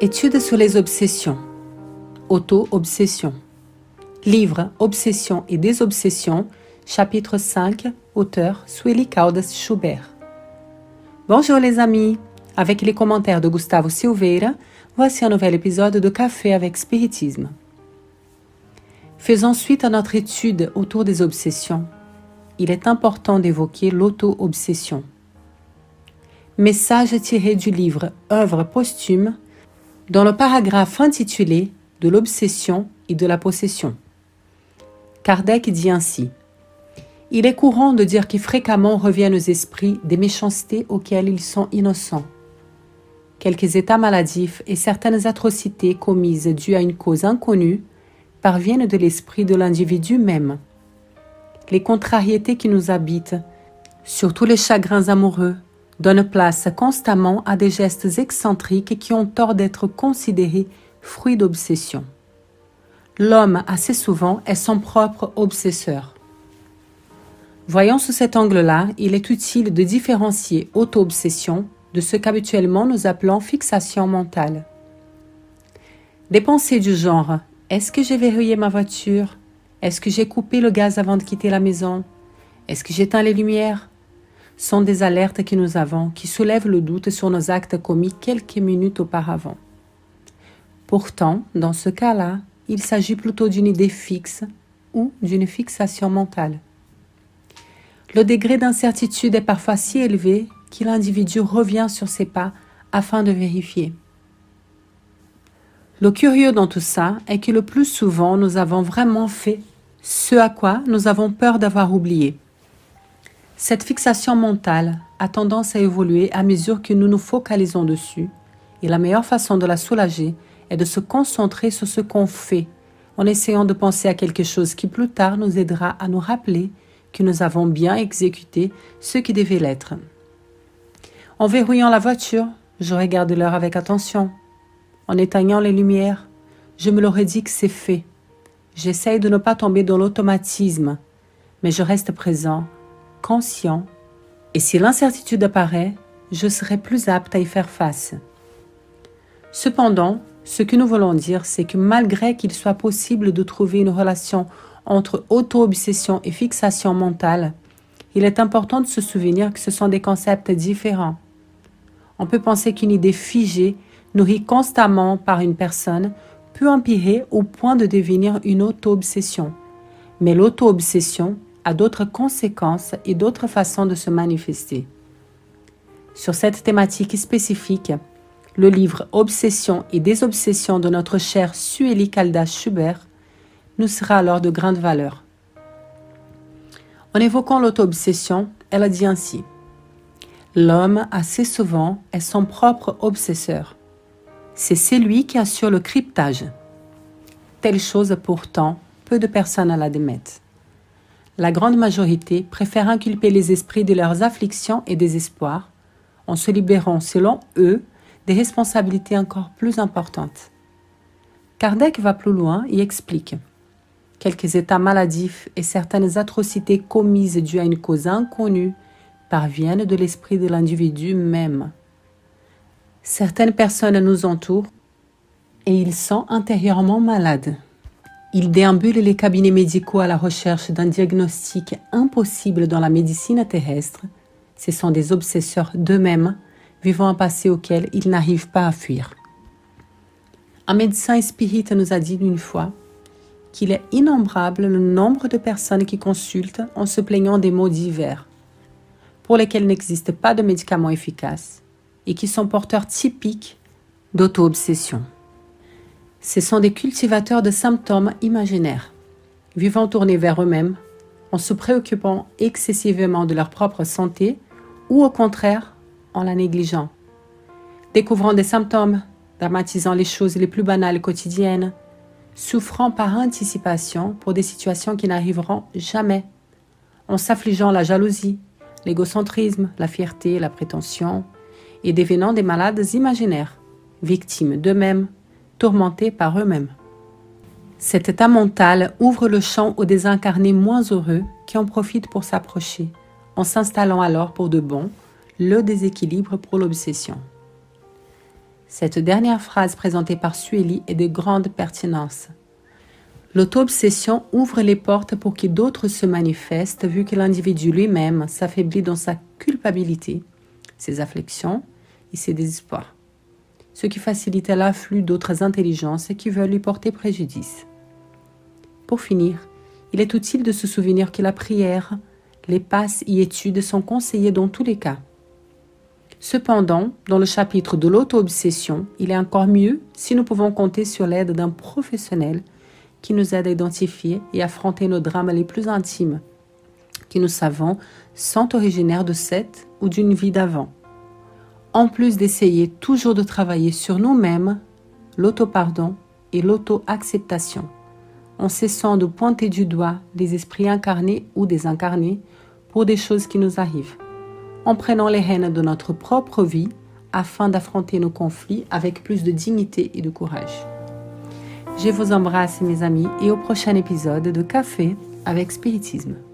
Études sur les obsessions. Auto-obsession. Livre Obsession et désobsession, chapitre 5, auteur Sueli Caldas Schubert. Bonjour les amis, avec les commentaires de Gustavo Silveira, voici un nouvel épisode de Café avec Spiritisme. Faisons suite à notre étude autour des obsessions. Il est important d'évoquer l'auto-obsession. Message tiré du livre Œuvre posthume, dans le paragraphe intitulé « De l'obsession et de la possession ». Kardec dit ainsi : « Il est courant de dire que fréquemment reviennent aux esprits des méchancetés auxquelles ils sont innocents. Quelques états maladifs et certaines atrocités commises dues à une cause inconnue parviennent de l'esprit de l'individu même. Les contrariétés qui nous habitent, surtout les chagrins amoureux, donnent place constamment à des gestes excentriques qui ont tort d'être considérés fruits d'obsession. L'homme, assez souvent, est son propre obsesseur. Voyons sous cet angle-là, il est utile de différencier auto-obsession de ce qu'habituellement nous appelons fixation mentale. Des pensées du genre « Est-ce que j'ai verrouillé ma voiture ? Est-ce que j'ai coupé le gaz avant de quitter la maison ? Est-ce que j'éteins les lumières ?» sont des alertes que nous avons qui soulèvent le doute sur nos actes commis quelques minutes auparavant. Pourtant, dans ce cas-là, il s'agit plutôt d'une idée fixe ou d'une fixation mentale. Le degré d'incertitude est parfois si élevé que l'individu revient sur ses pas afin de vérifier. Le curieux dans tout ça est que le plus souvent nous avons vraiment fait ce à quoi nous avons peur d'avoir oublié. Cette fixation mentale a tendance à évoluer à mesure que nous nous focalisons dessus, et la meilleure façon de la soulager est de se concentrer sur ce qu'on fait, en essayant de penser à quelque chose qui plus tard nous aidera à nous rappeler que nous avons bien exécuté ce qui devait l'être. En verrouillant la voiture, je regarde l'heure avec attention. En éteignant les lumières, je me l'aurais dit que c'est fait. J'essaye de ne pas tomber dans l'automatisme, mais je reste présent, conscient, et si l'incertitude apparaît, je serai plus apte à y faire face. Cependant, ce que nous voulons dire, c'est que malgré qu'il soit possible de trouver une relation entre auto-obsession et fixation mentale, il est important de se souvenir que ce sont des concepts différents. On peut penser qu'une idée figée, nourrie constamment par une personne, peut empirer au point de devenir une auto-obsession. Mais l'auto-obsession a d'autres conséquences et d'autres façons de se manifester. Sur cette thématique spécifique, le livre Obsession et désobsession de notre cher Sueli Caldas Schubert nous sera alors de grande valeur. En évoquant l'auto-obsession, elle a dit ainsi : « L'homme, assez souvent, est son propre obsesseur. C'est celui qui assure le cryptage. Telle chose, pourtant, peu de personnes l'admettent. La grande majorité préfère inculper les esprits de leurs afflictions et désespoirs, en se libérant, selon eux, des responsabilités encore plus importantes. » Kardec va plus loin et explique : « Quelques états maladifs et certaines atrocités commises dues à une cause inconnue parviennent de l'esprit de l'individu même. Certaines personnes nous entourent et ils sont intérieurement malades. Ils déambulent les cabinets médicaux à la recherche d'un diagnostic impossible dans la médecine terrestre. Ce sont des obsesseurs d'eux-mêmes, vivant un passé auquel ils n'arrivent pas à fuir. Un médecin spirit nous a dit une fois qu'il est innombrable le nombre de personnes qui consultent en se plaignant des maux divers, pour lesquels n'existe pas de médicaments efficaces et qui sont porteurs typiques d'auto-obsession. Ce sont des cultivateurs de symptômes imaginaires, vivant tournés vers eux-mêmes, en se préoccupant excessivement de leur propre santé ou au contraire en la négligeant, découvrant des symptômes, dramatisant les choses les plus banales quotidiennes, souffrant par anticipation pour des situations qui n'arriveront jamais, en s'affligeant la jalousie, l'égocentrisme, la fierté, la prétention, et devenant des malades imaginaires, victimes d'eux-mêmes, tourmentés par eux-mêmes. Cet état mental ouvre le champ aux désincarnés moins heureux qui en profitent pour s'approcher, en s'installant alors pour de bon le déséquilibre pour l'obsession. Cette dernière phrase présentée par Sueli est de grande pertinence. L'auto-obsession ouvre les portes pour que d'autres se manifestent vu que l'individu lui-même s'affaiblit dans sa culpabilité, ses afflictions et ses désespoirs, ce qui facilite l'afflux d'autres intelligences qui veulent lui porter préjudice. Pour finir, il est utile de se souvenir que la prière, les passes et études sont conseillées dans tous les cas. Cependant, dans le chapitre de l'auto-obsession, il est encore mieux si nous pouvons compter sur l'aide d'un professionnel qui nous aide à identifier et affronter nos drames les plus intimes, qui nous savons sont originaires de cette ou d'une vie d'avant. En plus d'essayer toujours de travailler sur nous-mêmes, l'auto-pardon et l'auto-acceptation, en cessant de pointer du doigt les esprits incarnés ou désincarnés pour des choses qui nous arrivent, en prenant les rênes de notre propre vie afin d'affronter nos conflits avec plus de dignité et de courage. Je vous embrasse mes amis et au prochain épisode de Café avec Spiritisme.